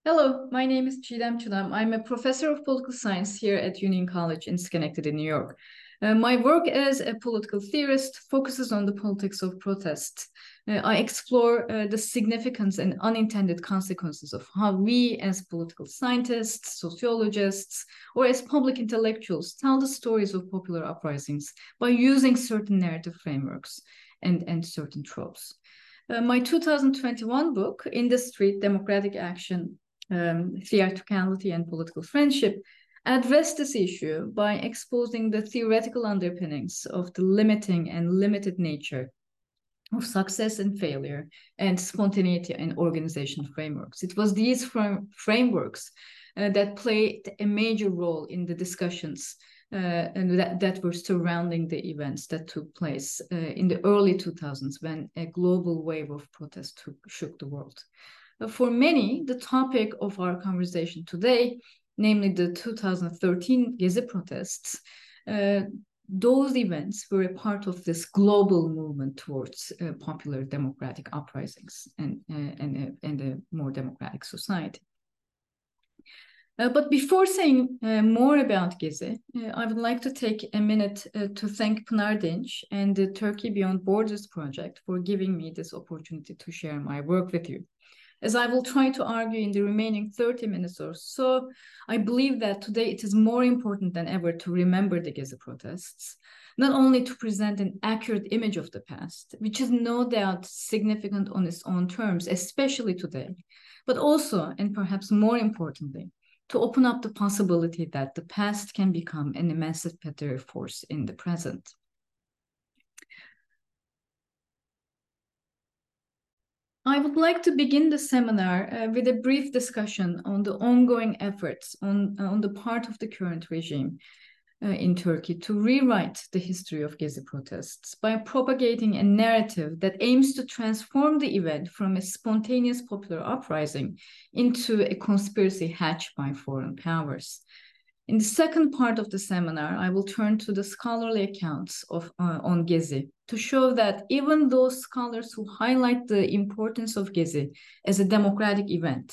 Hello, my name is Çiğdem Çınar. I'm a professor of political science here at Union College in Schenectady, New York. My work as a political theorist focuses on the politics of protest. I explore the significance and unintended consequences of how we as political scientists, sociologists, or as public intellectuals tell the stories of popular uprisings by using certain narrative frameworks and certain tropes. My 2021 book, In the Street, Democratic Action, Theatricality and Political Friendship, addressed this issue by exposing the theoretical underpinnings of the limiting and limited nature of success and failure and spontaneity and organization frameworks. It was these frameworks that played a major role in the discussions and that were surrounding the events that took place in the early 2000s when a global wave of protest shook the world. For many, the topic of our conversation today, namely the 2013 Gezi protests, those events were a part of this global movement towards popular democratic uprisings and a more democratic society. But before saying more about Gezi, I would like to take a minute to thank Pınar Dinç and the Turkey Beyond Borders project for giving me this opportunity to share my work with you. As I will try to argue in the remaining 30 minutes or so, I believe that today it is more important than ever to remember the Gezi protests, not only to present an accurate image of the past, which is no doubt significant on its own terms, especially today, but also, and perhaps more importantly, to open up the possibility that the past can become an emancipatory force in the present. I would like to begin the seminar with a brief discussion on the ongoing efforts on the part of the current regime in Turkey to rewrite the history of Gezi protests by propagating a narrative that aims to transform the event from a spontaneous popular uprising into a conspiracy hatched by foreign powers. In the second part of the seminar, I will turn to the scholarly accounts on Gezi to show that even those scholars who highlight the importance of Gezi as a democratic event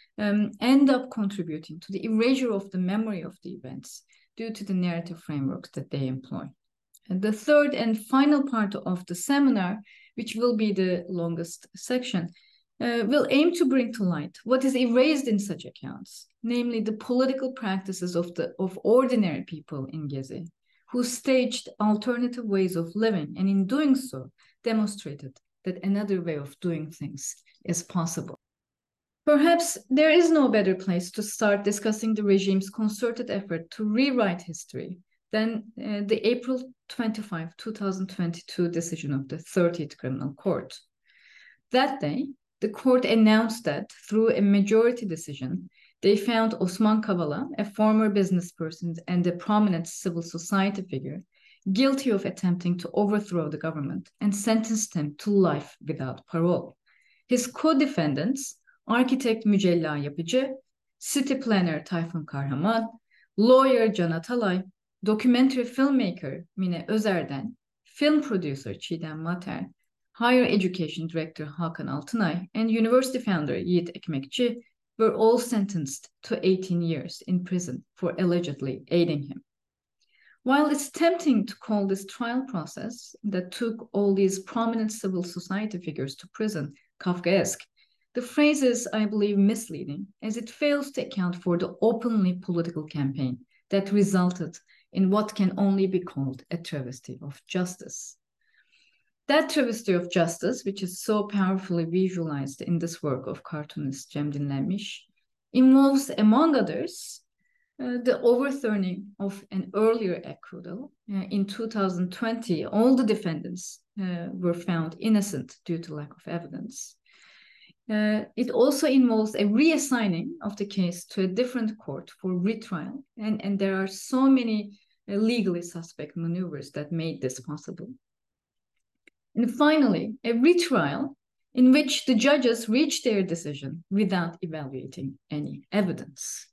end up contributing to the erasure of the memory of the events due to the narrative frameworks that they employ. And the third and final part of the seminar, which will be the longest section, will aim to bring to light what is erased in such accounts, namely the political practices of ordinary people in Gezi, who staged alternative ways of living, and in doing so, demonstrated that another way of doing things is possible. Perhaps there is no better place to start discussing the regime's concerted effort to rewrite history than the April 25, 2022 decision of the 30th Criminal Court. That day, the court announced that through a majority decision, they found Osman Kavala, a former business person and a prominent civil society figure, guilty of attempting to overthrow the government and sentenced him to life without parole. His co-defendants, architect Mücella Yapıcı, city planner Tayfun Kahraman, lawyer Can Atalay, documentary filmmaker Mine Özerden, film producer Çiğdem Mater, Higher Education Director Hakan Altınay, and university founder Yiğit Ekmekçi were all sentenced to 18 years in prison for allegedly aiding him. While it's tempting to call this trial process that took all these prominent civil society figures to prison Kafkaesque, the phrase is, I believe, misleading, as it fails to account for the openly political campaign that resulted in what can only be called a travesty of justice. That travesty of justice, which is so powerfully visualized in this work of cartoonist Cem Dinlenmiş, involves, among others, the overturning of an earlier acquittal. In 2020, all the defendants were found innocent due to lack of evidence. It also involves a reassigning of the case to a different court for retrial, and there are so many legally suspect maneuvers that made this possible. And finally, a retrial in which the judges reach their decision without evaluating any evidence.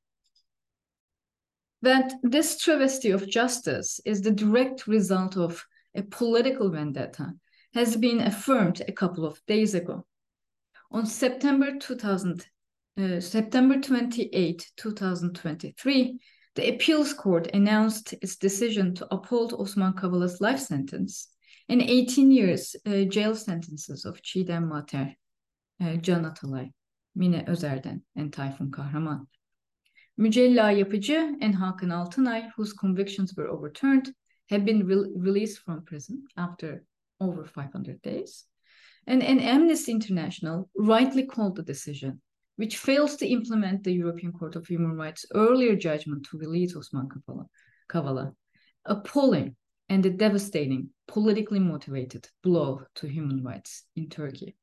That this travesty of justice is the direct result of a political vendetta has been affirmed a couple of days ago. On September 2000, September 28, 2023, the appeals court announced its decision to uphold Osman Kavala''s life sentence and 18 years jail sentences of Çiğdem Mater, Can Atalay, Mine Özerden, and Tayfun Kahraman. Mücella Yapıcı and Hakan Altınay, whose convictions were overturned, have been released from prison after over 500 days. And Amnesty International rightly called the decision, which fails to implement the European Court of Human Rights' earlier judgment to release Osman Kavala, appalling and a devastating, politically motivated blow to human rights in Turkey.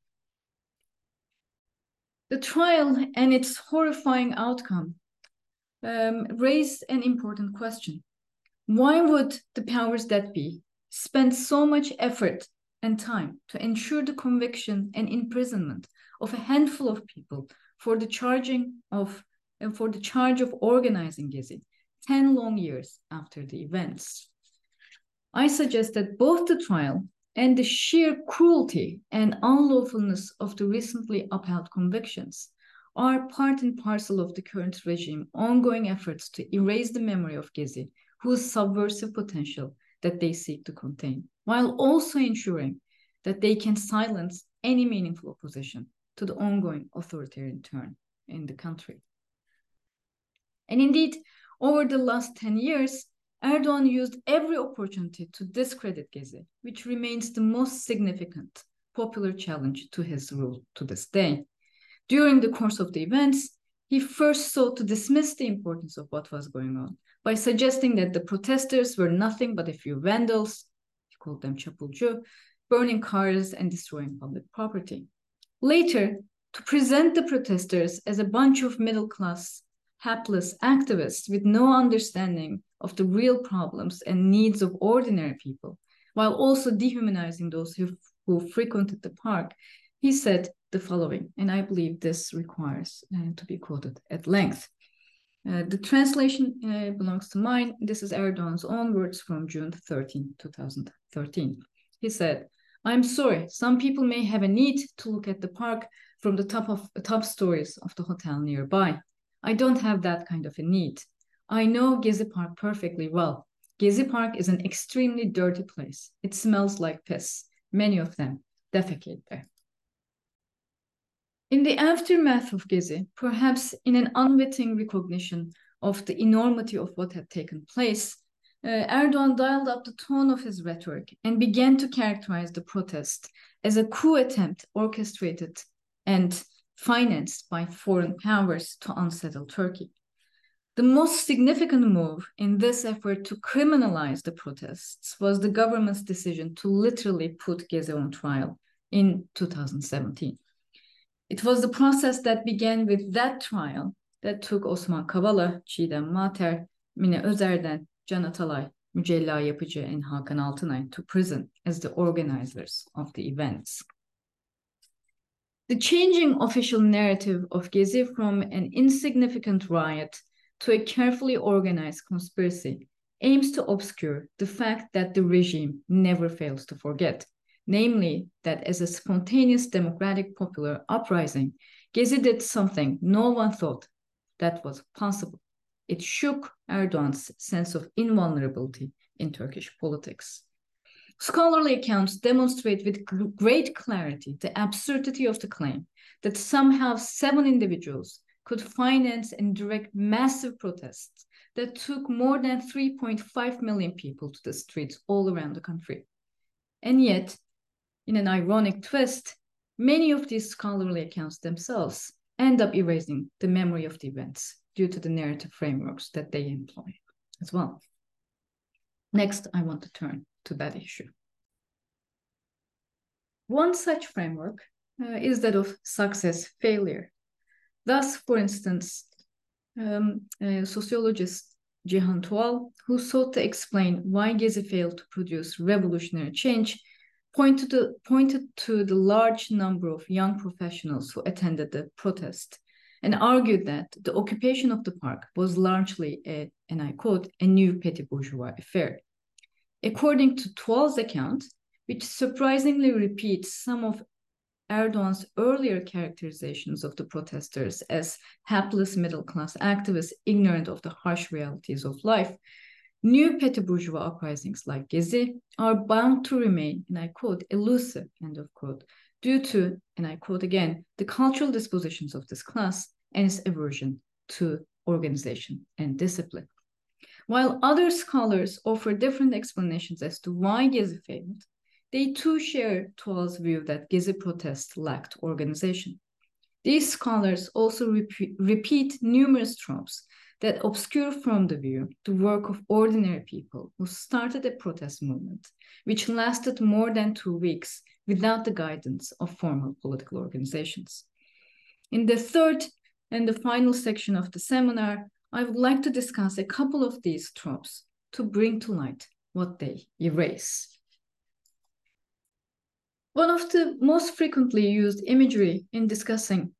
The trial and its horrifying outcome raised an important question. Why would the powers that be spend so much effort and time to ensure the conviction and imprisonment of a handful of people for the charge of organizing Gezi 10 long years after the events? I suggest that both the trial and the sheer cruelty and unlawfulness of the recently upheld convictions are part and parcel of the current regime ongoing efforts to erase the memory of Gezi, whose subversive potential that they seek to contain, while also ensuring that they can silence any meaningful opposition to the ongoing authoritarian turn in the country. And indeed, over the last 10 years, Erdogan used every opportunity to discredit Gezi, which remains the most significant popular challenge to his rule to this day. During the course of the events, he first sought to dismiss the importance of what was going on by suggesting that the protesters were nothing but a few vandals, he called them çapulcu, burning cars and destroying public property. Later, to present the protesters as a bunch of middle-class, hapless activists with no understanding of the real problems and needs of ordinary people, while also dehumanizing those who frequented the park, he said the following, and I believe this requires to be quoted at length. The translation belongs to mine. This is Erdogan's own words from June 13, 2013. He said, "I'm sorry, some people may have a need to look at the park from the top stories of the hotel nearby. I don't have that kind of a need. I know Gezi Park perfectly well. Gezi Park is an extremely dirty place. It smells like piss. Many of them defecate there." In the aftermath of Gezi, perhaps in an unwitting recognition of the enormity of what had taken place, Erdogan dialed up the tone of his rhetoric and began to characterize the protest as a coup attempt orchestrated and financed by foreign powers to unsettle Turkey. The most significant move in this effort to criminalize the protests was the government's decision to literally put Gezi on trial in 2017. It was the process that began with that trial that took Osman Kavala, Çiğdem Mater, Mine Özerden, Can Atalay, Mücella Yapıcı, and Hakan Altınay to prison as the organizers of the events. The changing official narrative of Gezi from an insignificant riot to a carefully organized conspiracy aims to obscure the fact that the regime never fails to forget, namely that as a spontaneous democratic popular uprising, Gezi did something no one thought that was possible. It shook Erdogan's sense of invulnerability in Turkish politics. Scholarly accounts demonstrate with great clarity the absurdity of the claim that somehow 7 individuals could finance and direct massive protests that took more than 3.5 million people to the streets all around the country. And yet, in an ironic twist, many of these scholarly accounts themselves end up erasing the memory of the events due to the narrative frameworks that they employ as well. Next, I want to turn to that issue. One such framework is that of success-failure. Thus, for instance, sociologist Cihan Tuğal, who sought to explain why Gezi failed to produce revolutionary change, pointed to the large number of young professionals who attended the protest and argued that the occupation of the park was largely and I quote, a new petit bourgeois affair. According to Tuğal's account, which surprisingly repeats some of Erdogan's earlier characterizations of the protesters as hapless middle-class activists ignorant of the harsh realities of life, new petty bourgeois uprisings like Gezi are bound to remain, and I quote, elusive, end of quote, due to, and I quote again, the cultural dispositions of this class and its aversion to organization and discipline. While other scholars offer different explanations as to why Gezi failed, they too share Tuğal's view that Gezi protests lacked organization. These scholars also repeat numerous tropes that obscure from the view the work of ordinary people who started a protest movement, which lasted more than 2 weeks without the guidance of formal political organizations. In the third and the final section of the seminar, I would like to discuss a couple of these tropes to bring to light what they erase. One of the most frequently used imagery in discussing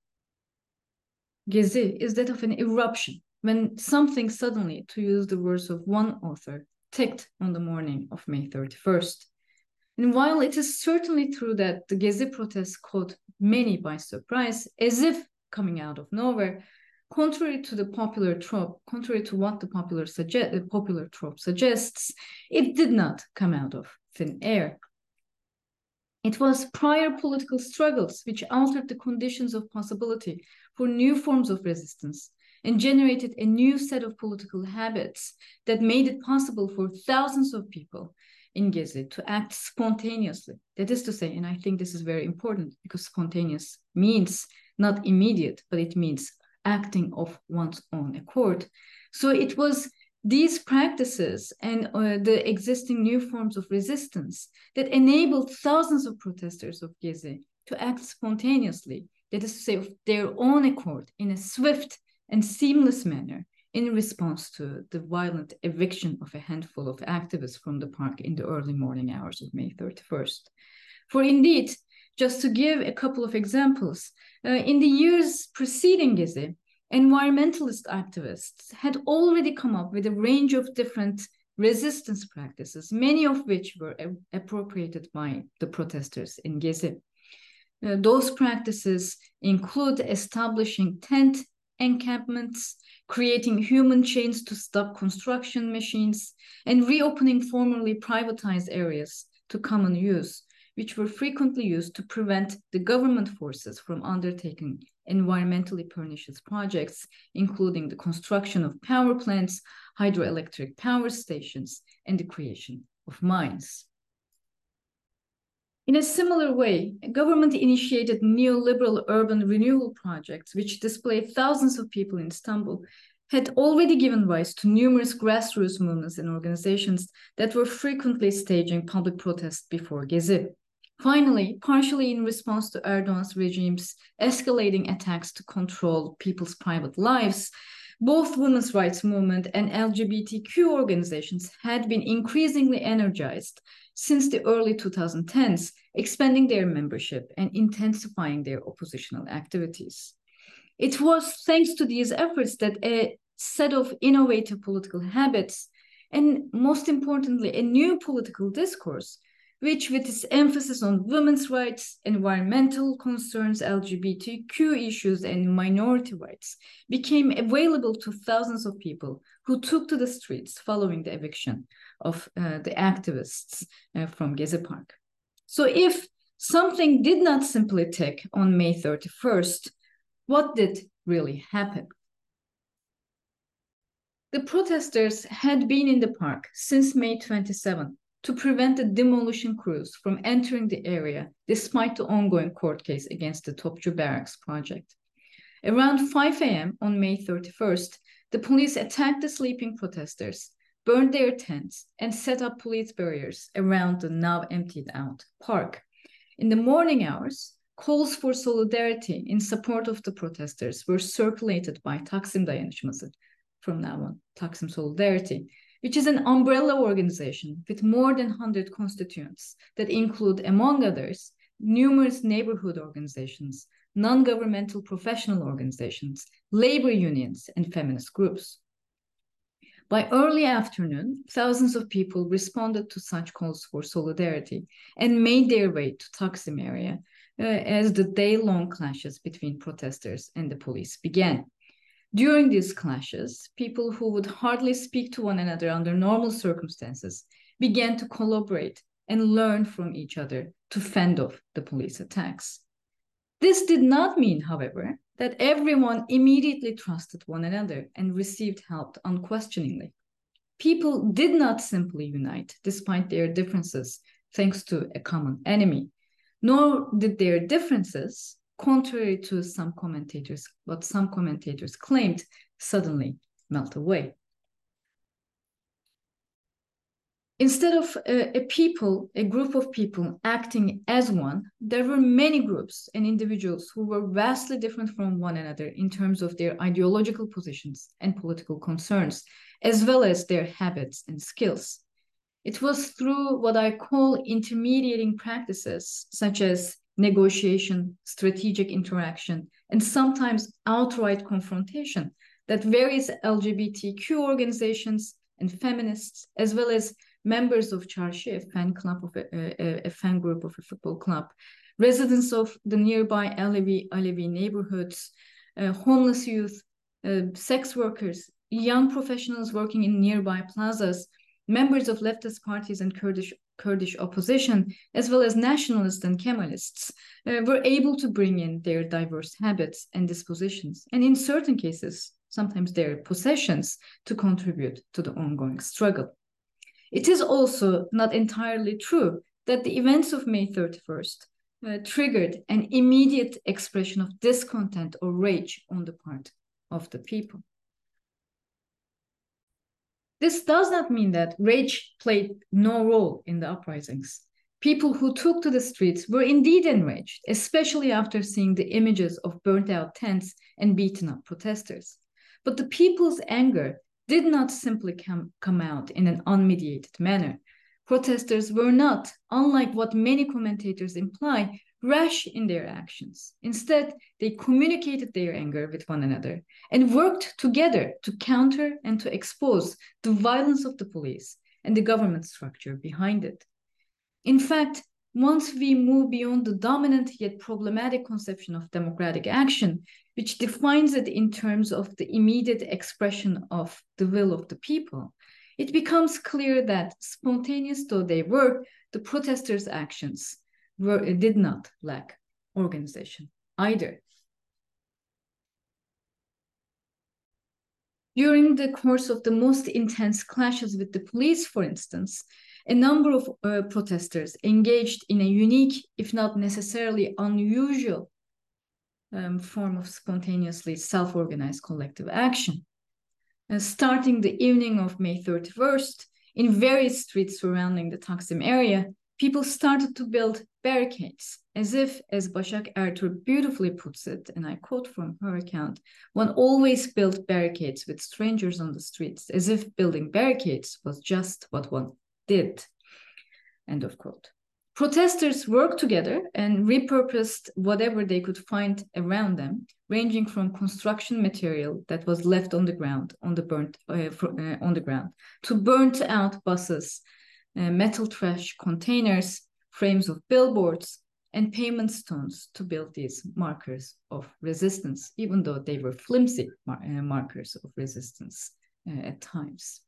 Gezi is that of an eruption, when something suddenly, to use the words of one author, ticked on the morning of May 31st. And while it is certainly true that the Gezi protests caught many by surprise, as if coming out of nowhere, contrary to the popular trope, contrary to what the popular trope suggests, it did not come out of thin air. It was prior political struggles which altered the conditions of possibility for new forms of resistance and generated a new set of political habits that made it possible for thousands of people in Gezi to act spontaneously. That is to say, and I think this is very important because spontaneous means not immediate, but it means acting of one's own accord. So it was these practices and the existing new forms of resistance that enabled thousands of protesters of Gezi to act spontaneously, that is to say, of their own accord, in a swift and seamless manner, in response to the violent eviction of a handful of activists from the park in the early morning hours of May 31st. For indeed, just to give a couple of examples, in the years preceding Gezi, environmentalist activists had already come up with a range of different resistance practices, many of which were appropriated by the protesters in Gezi. Those practices include establishing tent encampments, creating human chains to stop construction machines, and reopening formerly privatized areas to common use, which were frequently used to prevent the government forces from undertaking environmentally pernicious projects, including the construction of power plants, hydroelectric power stations, and the creation of mines. In a similar way, government-initiated neoliberal urban renewal projects, which displaced thousands of people in Istanbul, had already given rise to numerous grassroots movements and organizations that were frequently staging public protests before Gezi. Finally, partially in response to Erdogan's regime's escalating attacks to control people's private lives, both women's rights movement and LGBTQ organizations had been increasingly energized since the early 2010s, expanding their membership and intensifying their oppositional activities. It was thanks to these efforts that a set of innovative political habits and, most importantly, a new political discourse, which with its emphasis on women's rights, environmental concerns, LGBTQ issues, and minority rights, became available to thousands of people who took to the streets following the eviction of the activists from Gezi Park. So if something did not simply tick on May 31st, what did really happen? The protesters had been in the park since May 27 to prevent the demolition crews from entering the area despite the ongoing court case against the Topçu Barracks project. Around 5 a.m. on May 31st, the police attacked the sleeping protesters, burned their tents, and set up police barriers around the now emptied out park. In the morning hours, calls for solidarity in support of the protesters were circulated by Taksim Dayanışması, from now on, Taksim Solidarity, which is an umbrella organization with more than 100 constituents that include, among others, numerous neighborhood organizations, non-governmental professional organizations, labor unions, and feminist groups. By early afternoon, thousands of people responded to such calls for solidarity and made their way to Taksim area, as the day-long clashes between protesters and the police began. During these clashes, people who would hardly speak to one another under normal circumstances began to collaborate and learn from each other to fend off the police attacks. This did not mean, however, that everyone immediately trusted one another and received help unquestioningly. People did not simply unite despite their differences thanks to a common enemy, nor did their differences, contrary to what some commentators claimed, suddenly melt away. Instead of a group of people acting as one, there were many groups and individuals who were vastly different from one another in terms of their ideological positions and political concerns, as well as their habits and skills. It was through what I call intermediating practices, such as negotiation, strategic interaction, and sometimes outright confrontation, that various LGBTQ organizations and feminists, as well as members of Çarşı, a fan group of a football club, residents of the nearby Alevi neighborhoods, homeless youth, sex workers, young professionals working in nearby plazas, members of leftist parties and Kurdish opposition, as well as nationalists and Kemalists, were able to bring in their diverse habits and dispositions, and in certain cases, sometimes their possessions, to contribute to the ongoing struggle. It is also not entirely true that the events of May 31st triggered an immediate expression of discontent or rage on the part of the people. This does not mean that rage played no role in the uprisings. People who took to the streets were indeed enraged, especially after seeing the images of burnt-out tents and beaten-up protesters. But the people's anger did not simply come out in an unmediated manner. Protesters were not, unlike what many commentators imply, rash in their actions. Instead, they communicated their anger with one another and worked together to counter and to expose the violence of the police and the government structure behind it. In fact, once we move beyond the dominant yet problematic conception of democratic action, which defines it in terms of the immediate expression of the will of the people, it becomes clear that, spontaneous though they were, the protesters' actions did not lack organization either. During the course of the most intense clashes with the police, for instance, a number of protesters engaged in a unique, if not necessarily unusual, form of spontaneously self-organized collective action. Starting the evening of May 31st, in various streets surrounding the Taksim area, people started to build barricades, as if, as Başak Ertuğ beautifully puts it, and I quote from her account, one always built barricades with strangers on the streets, as if building barricades was just what one did, end of quote. Protesters worked together and repurposed whatever they could find around them, ranging from construction material that was left on the ground, on the ground, to burnt out buses, metal trash containers, frames of billboards, and pavement stones to build these markers of resistance, even though they were flimsy markers of resistance at times.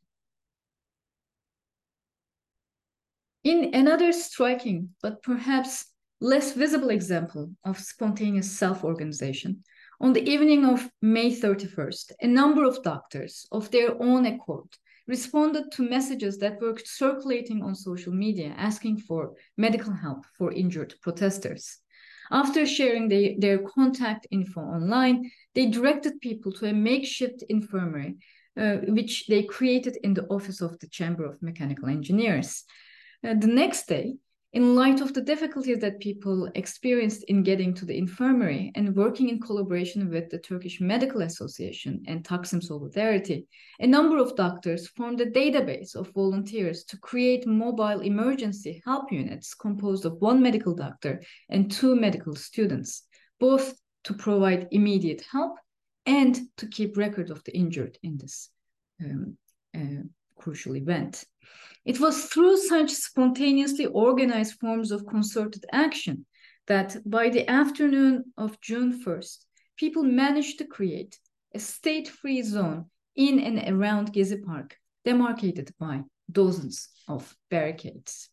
In another striking, but perhaps less visible example of spontaneous self-organization, on the evening of May 31st, a number of doctors, of their own accord, responded to messages that were circulating on social media asking for medical help for injured protesters. After sharing their contact info online, they directed people to a makeshift infirmary, which they created in the office of the Chamber of Mechanical Engineers. The next day, in light of the difficulties that people experienced in getting to the infirmary and working in collaboration with the Turkish Medical Association and Taksim Solidarity, a number of doctors formed a database of volunteers to create mobile emergency help units composed of one medical doctor and 2 medical students, both to provide immediate help and to keep record of the injured in this crucial event. It was through such spontaneously organized forms of concerted action that by the afternoon of June 1st, people managed to create a state-free zone in and around Gezi Park, demarcated by dozens of barricades.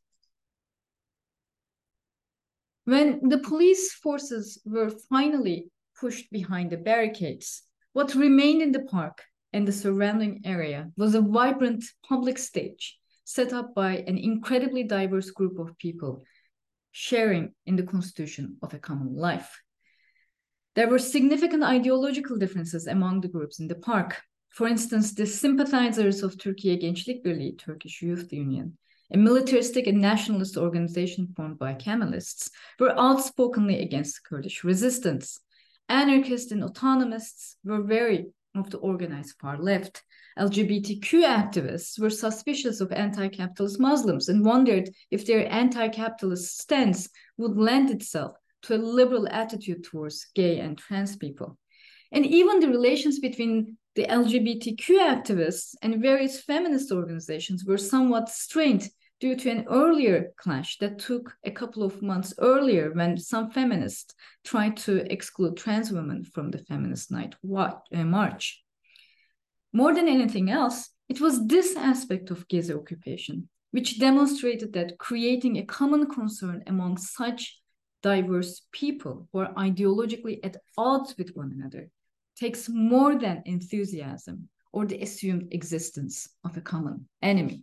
When the police forces were finally pushed behind the barricades, what remained in the park and the surrounding area was a vibrant public stage set up by an incredibly diverse group of people sharing in the constitution of a common life. There were significant ideological differences among the groups in the park. For instance, the sympathizers of Türkiye Gençlik Birliği, Turkish Youth Union, a militaristic and nationalist organization formed by Kemalists, were outspokenly against Kurdish resistance. Anarchists and autonomists were wary of the organized far left. LGBTQ activists were suspicious of anti-capitalist Muslims and wondered if their anti-capitalist stance would lend itself to a liberal attitude towards gay and trans people. And even the relations between the LGBTQ activists and various feminist organizations were somewhat strained due to an earlier clash that took a couple of months earlier when some feminists tried to exclude trans women from the Feminist Night March. More than anything else, it was this aspect of Gezi occupation which demonstrated that creating a common concern among such diverse people who are ideologically at odds with one another takes more than enthusiasm or the assumed existence of a common enemy.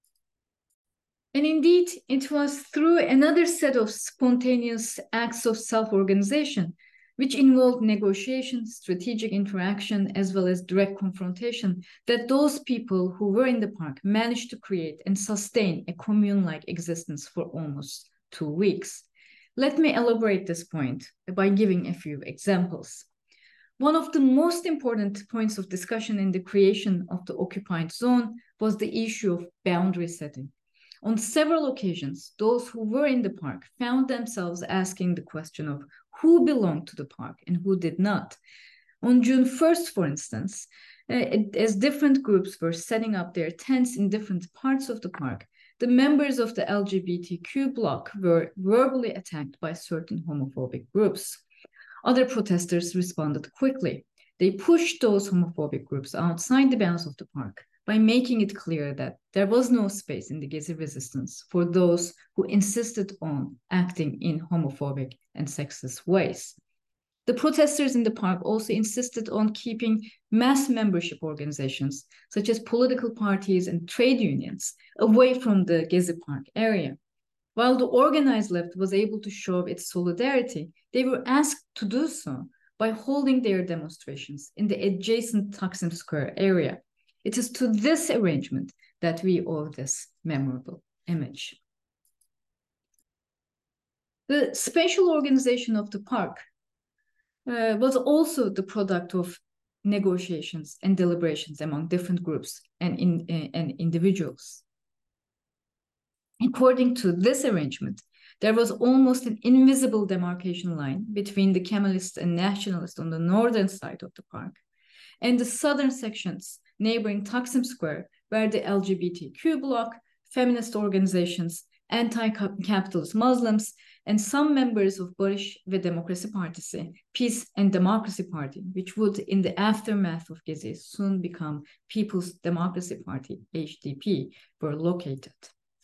And indeed, it was through another set of spontaneous acts of self-organization, which involved negotiation, strategic interaction, as well as direct confrontation, that those people who were in the park managed to create and sustain a commune-like existence for almost 2 weeks. Let me elaborate this point by giving a few examples. One of the most important points of discussion in the creation of the occupied zone was the issue of boundary setting. On several occasions, those who were in the park found themselves asking the question of who belonged to the park and who did not. On June 1st, for instance, as different groups were setting up their tents in different parts of the park, the members of the LGBTQ bloc were verbally attacked by certain homophobic groups. Other protesters responded quickly. They pushed those homophobic groups outside the bounds of the park by making it clear that there was no space in the Gezi resistance for those who insisted on acting in homophobic and sexist ways. The protesters in the park also insisted on keeping mass membership organizations, such as political parties and trade unions, away from the Gezi Park area. While the organized left was able to show its solidarity, they were asked to do so by holding their demonstrations in the adjacent Taksim Square area. It is to this arrangement that we owe this memorable image. The spatial organization of the park was also the product of negotiations and deliberations among different groups and individuals. According to this arrangement, there was almost an invisible demarcation line between the Kemalists and nationalists on the northern side of the park and the southern sections neighboring Taksim Square, where the LGBTQ bloc, feminist organizations, anti-capitalist Muslims, and some members of Barış ve Demokrasi Partisi, Peace and Democracy Party, which would, in the aftermath of Gezi, soon become People's Democracy Party, HDP, were located.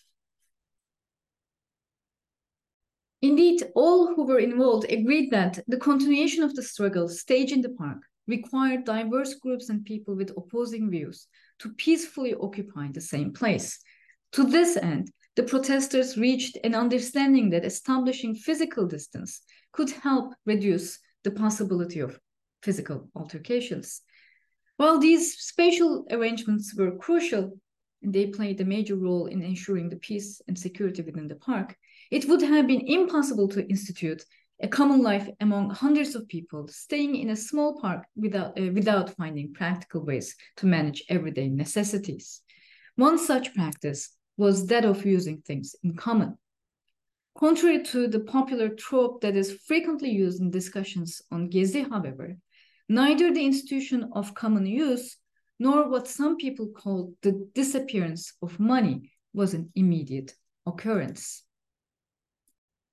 Indeed, all who were involved agreed that the continuation of the struggle staged in the park required diverse groups and people with opposing views to peacefully occupy the same place. To this end, the protesters reached an understanding that establishing physical distance could help reduce the possibility of physical altercations. While these spatial arrangements were crucial, and they played a major role in ensuring the peace and security within the park, it would have been impossible to institute a common life among hundreds of people staying in a small park without finding practical ways to manage everyday necessities. One such practice was that of using things in common. Contrary to the popular trope that is frequently used in discussions on Gezi, however, neither the institution of common use nor what some people call the disappearance of money was an immediate occurrence.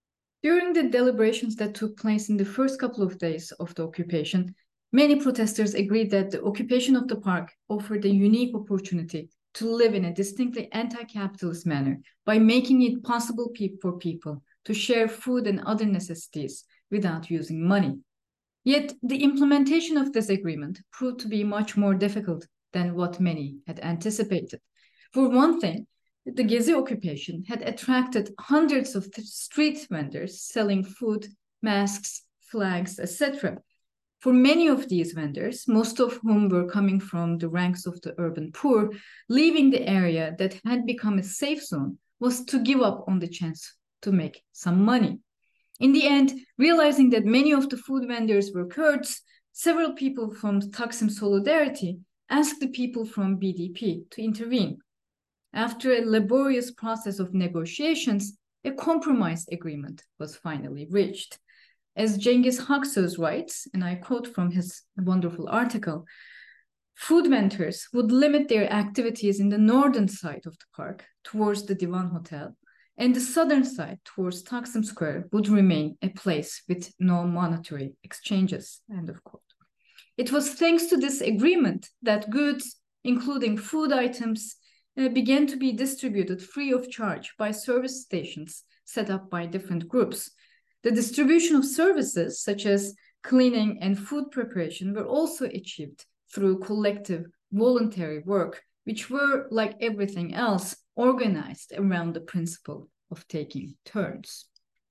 During the deliberations that took place in the first couple of days of the occupation, many protesters agreed that the occupation of the park offered a unique opportunity to live in a distinctly anti-capitalist manner by making it possible for people to share food and other necessities without using money. Yet the implementation of this agreement proved to be much more difficult than what many had anticipated. For one thing, the Gezi occupation had attracted hundreds of street vendors selling food, masks, flags, etc. For many of these vendors, most of whom were coming from the ranks of the urban poor, leaving the area that had become a safe zone was to give up on the chance to make some money. In the end, realizing that many of the food vendors were Kurds, several people from Taksim Solidarity asked the people from BDP to intervene. After a laborious process of negotiations, a compromise agreement was finally reached. As Cengiz Haksöz writes, and I quote from his wonderful article, food vendors would limit their activities in the northern side of the park towards the Divan Hotel, and the southern side towards Taksim Square would remain a place with no monetary exchanges, end of quote. It was thanks to this agreement that goods, including food items, began to be distributed free of charge by service stations set up by different groups. The distribution of services such as cleaning and food preparation were also achieved through collective voluntary work, which were, like everything else, organized around the principle of taking turns.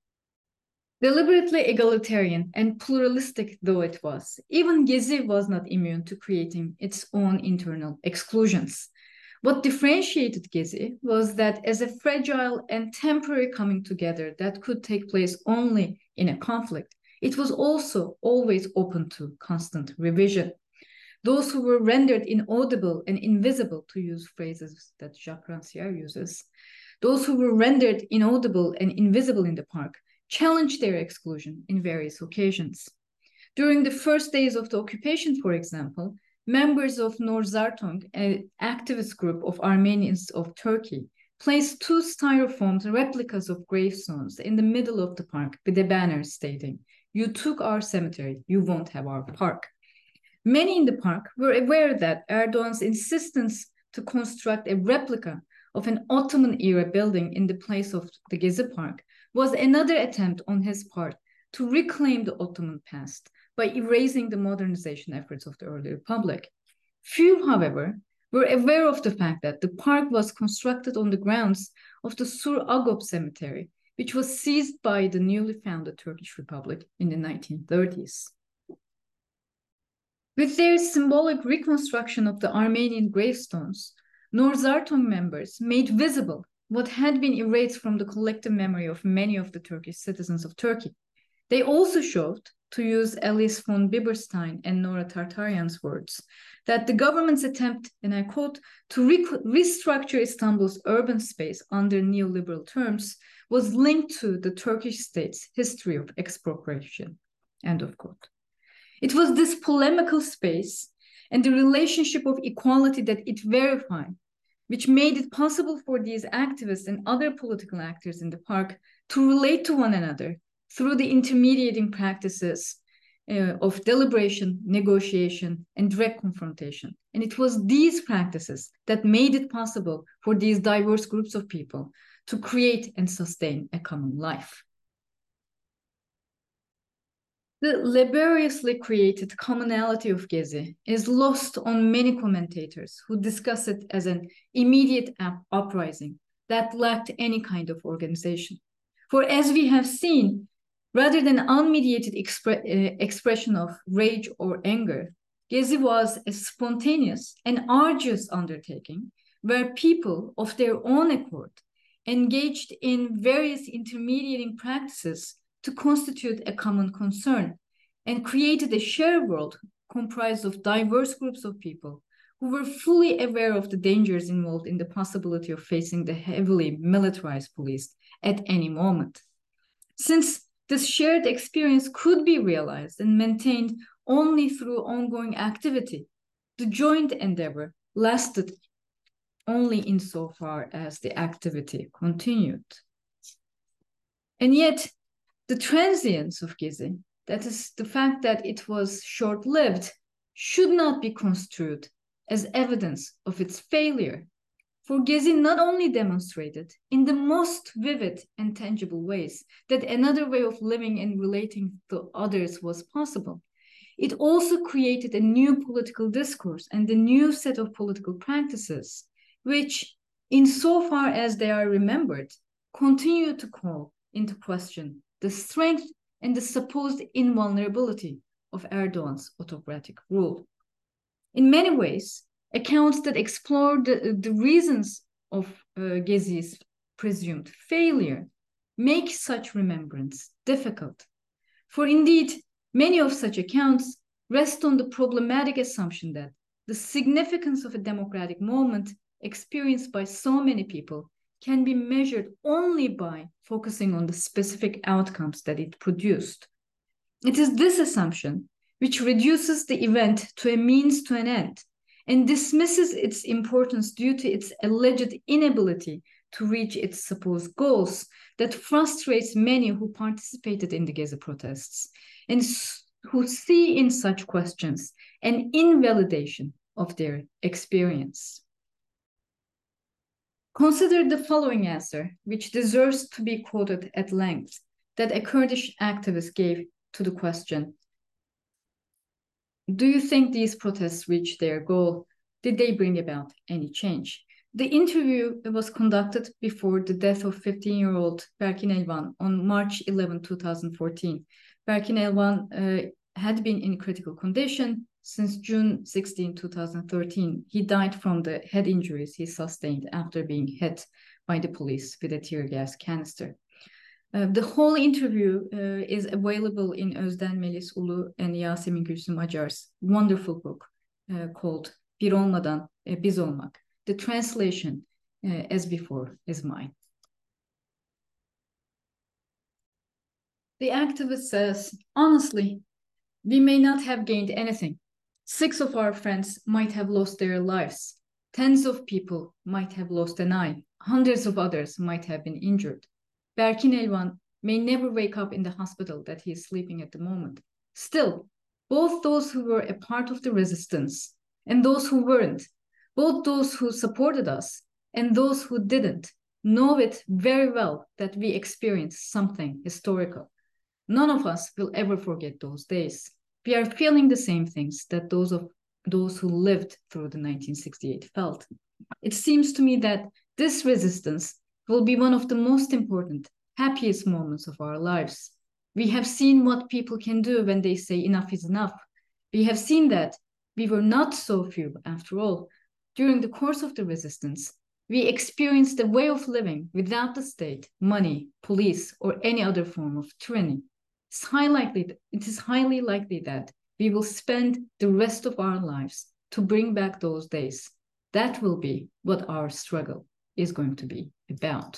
Deliberately egalitarian and pluralistic though it was, even Gezi was not immune to creating its own internal exclusions. What differentiated Gezi was that as a fragile and temporary coming together that could take place only in a conflict, it was also always open to constant revision. Those who were rendered inaudible and invisible, to use phrases that Jacques Rancière uses, those who were rendered inaudible and invisible in the park challenged their exclusion in various occasions. During the first days of the occupation, for example, members of Nor Zartung, an activist group of Armenians of Turkey, placed 2 styrofoam replicas of gravestones in the middle of the park with a banner stating, "You took our cemetery, you won't have our park." Many in the park were aware that Erdogan's insistence to construct a replica of an Ottoman-era building in the place of the Gezi Park was another attempt on his part to reclaim the Ottoman past by erasing the modernization efforts of the early republic. Few, however, were aware of the fact that the park was constructed on the grounds of the Sur Agop cemetery, which was seized by the newly founded Turkish Republic in the 1930s. With their symbolic reconstruction of the Armenian gravestones, Nor Zartung members made visible what had been erased from the collective memory of many of the Turkish citizens of Turkey. They also showed, to use Alice von Biberstein and Nora Tartarian's words, that the government's attempt, and I quote, to restructure Istanbul's urban space under neoliberal terms was linked to the Turkish state's history of expropriation, end of quote. It was this polemical space and the relationship of equality that it verified, which made it possible for these activists and other political actors in the park to relate to one another through the intermediating practices of deliberation, negotiation, and direct confrontation. And it was these practices that made it possible for these diverse groups of people to create and sustain a common life. The laboriously created commonality of Gezi is lost on many commentators who discuss it as an immediate uprising that lacked any kind of organization. For as we have seen, rather than unmediated expression of rage or anger, Gezi was a spontaneous and arduous undertaking where people of their own accord engaged in various intermediating practices to constitute a common concern and created a shared world comprised of diverse groups of people who were fully aware of the dangers involved in the possibility of facing the heavily militarized police at any moment. Since this shared experience could be realized and maintained only through ongoing activity, the joint endeavor lasted only insofar as the activity continued. And yet, The transience of Gezi, that is, the fact that it was short-lived, should not be construed as evidence of its failure. For Gezi not only demonstrated in the most vivid and tangible ways that another way of living and relating to others was possible, it also created a new political discourse and a new set of political practices, which, insofar as they are remembered, continue to call into question the strength and the supposed invulnerability of Erdogan's autocratic rule. In many ways, accounts that explore the reasons of Gezi's presumed failure make such remembrance difficult. For indeed, many of such accounts rest on the problematic assumption that the significance of a democratic moment experienced by so many people can be measured only by focusing on the specific outcomes that it produced. It is this assumption which reduces the event to a means to an end and dismisses its importance due to its alleged inability to reach its supposed goals that frustrates many who participated in the Gezi protests and who see in such questions an invalidation of their experience. Consider the following answer, which deserves to be quoted at length, that a Kurdish activist gave to the question, do you think these protests reached their goal? Did they bring about any change? The interview was conducted before the death of 15-year-old Berkin Elvan on March 11, 2014. Berkin Elvan had been in critical condition since June 16, 2013. He died from the head injuries he sustained after being hit by the police with a tear gas canister. The whole interview is available in Özden Melis Ulu and Yasemin Gülsüm Acar's wonderful book called Bir Olmadan Biz Olmak. The translation, as before, is mine. The activist says, honestly, we may not have gained anything. 6 of our friends might have lost their lives. Tens of people might have lost an eye. Hundreds of others might have been injured. Berkin Elvan may never wake up in the hospital that he is sleeping at the moment. Still, both those who were a part of the resistance and those who weren't, both those who supported us and those who didn't, know it very well that we experienced something historical. None of us will ever forget those days. We are feeling the same things that those who lived through the 1968 felt. It seems to me that this resistance will be one of the most important, happiest moments of our lives. We have seen what people can do when they say enough is enough. We have seen that we were not so few after all. During the course of the resistance, we experienced a way of living without the state, money, police, or any other form of tyranny. It is highly likely that we will spend the rest of our lives to bring back those days. That will be what our struggle is going to be about.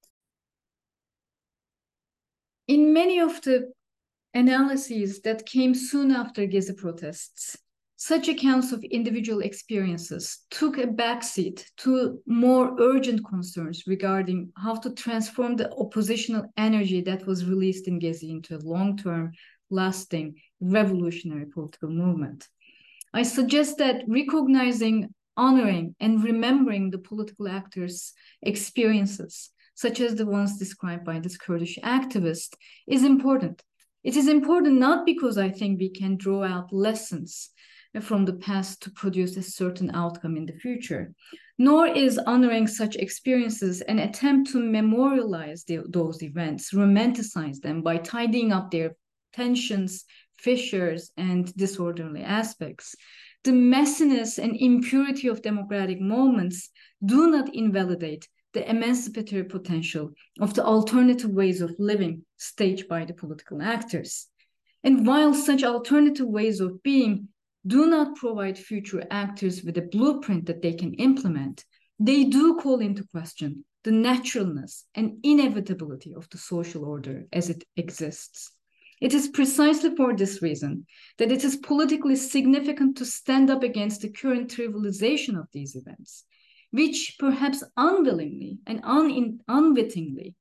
In many of the analyses that came soon after Gezi protests, such accounts of individual experiences took a backseat to more urgent concerns regarding how to transform the oppositional energy that was released in Gezi into a long-term, lasting, revolutionary political movement. I suggest that recognizing, honoring, and remembering the political actors' experiences, such as the ones described by this Kurdish activist, is important. It is important not because I think we can draw out lessons from the past to produce a certain outcome in the future, nor is honoring such experiences an attempt to memorialize those events, romanticize them by tidying up their tensions, fissures, and disorderly aspects. The messiness and impurity of democratic moments do not invalidate the emancipatory potential of the alternative ways of living staged by the political actors. And while such alternative ways of being do not provide future actors with a blueprint that they can implement, they do call into question the naturalness and inevitability of the social order as it exists. It is precisely for this reason that it is politically significant to stand up against the current trivialization of these events, which perhaps unwillingly and unwittingly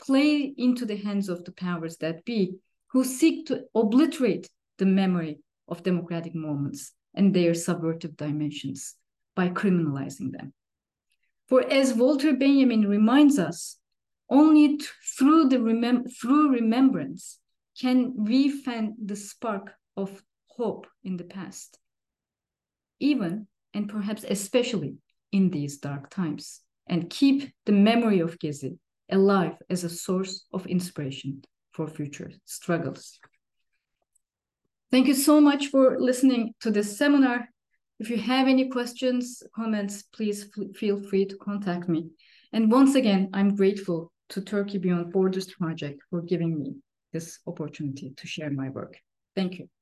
play into the hands of the powers that be, who seek to obliterate the memory of democratic moments and their subversive dimensions by criminalizing them. For as Walter Benjamin reminds us, only through remembrance can we fan the spark of hope in the past, even and perhaps especially in these dark times, and keep the memory of Gezi alive as a source of inspiration for future struggles. Thank you so much for listening to this seminar. If you have any questions, comments, please feel free to contact me. And once again, I'm grateful to Turkey Beyond Borders Project for giving me this opportunity to share my work. Thank you.